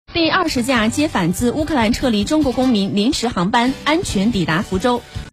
第20架接返自乌克兰撤离中国公民临时航班安全抵达福州。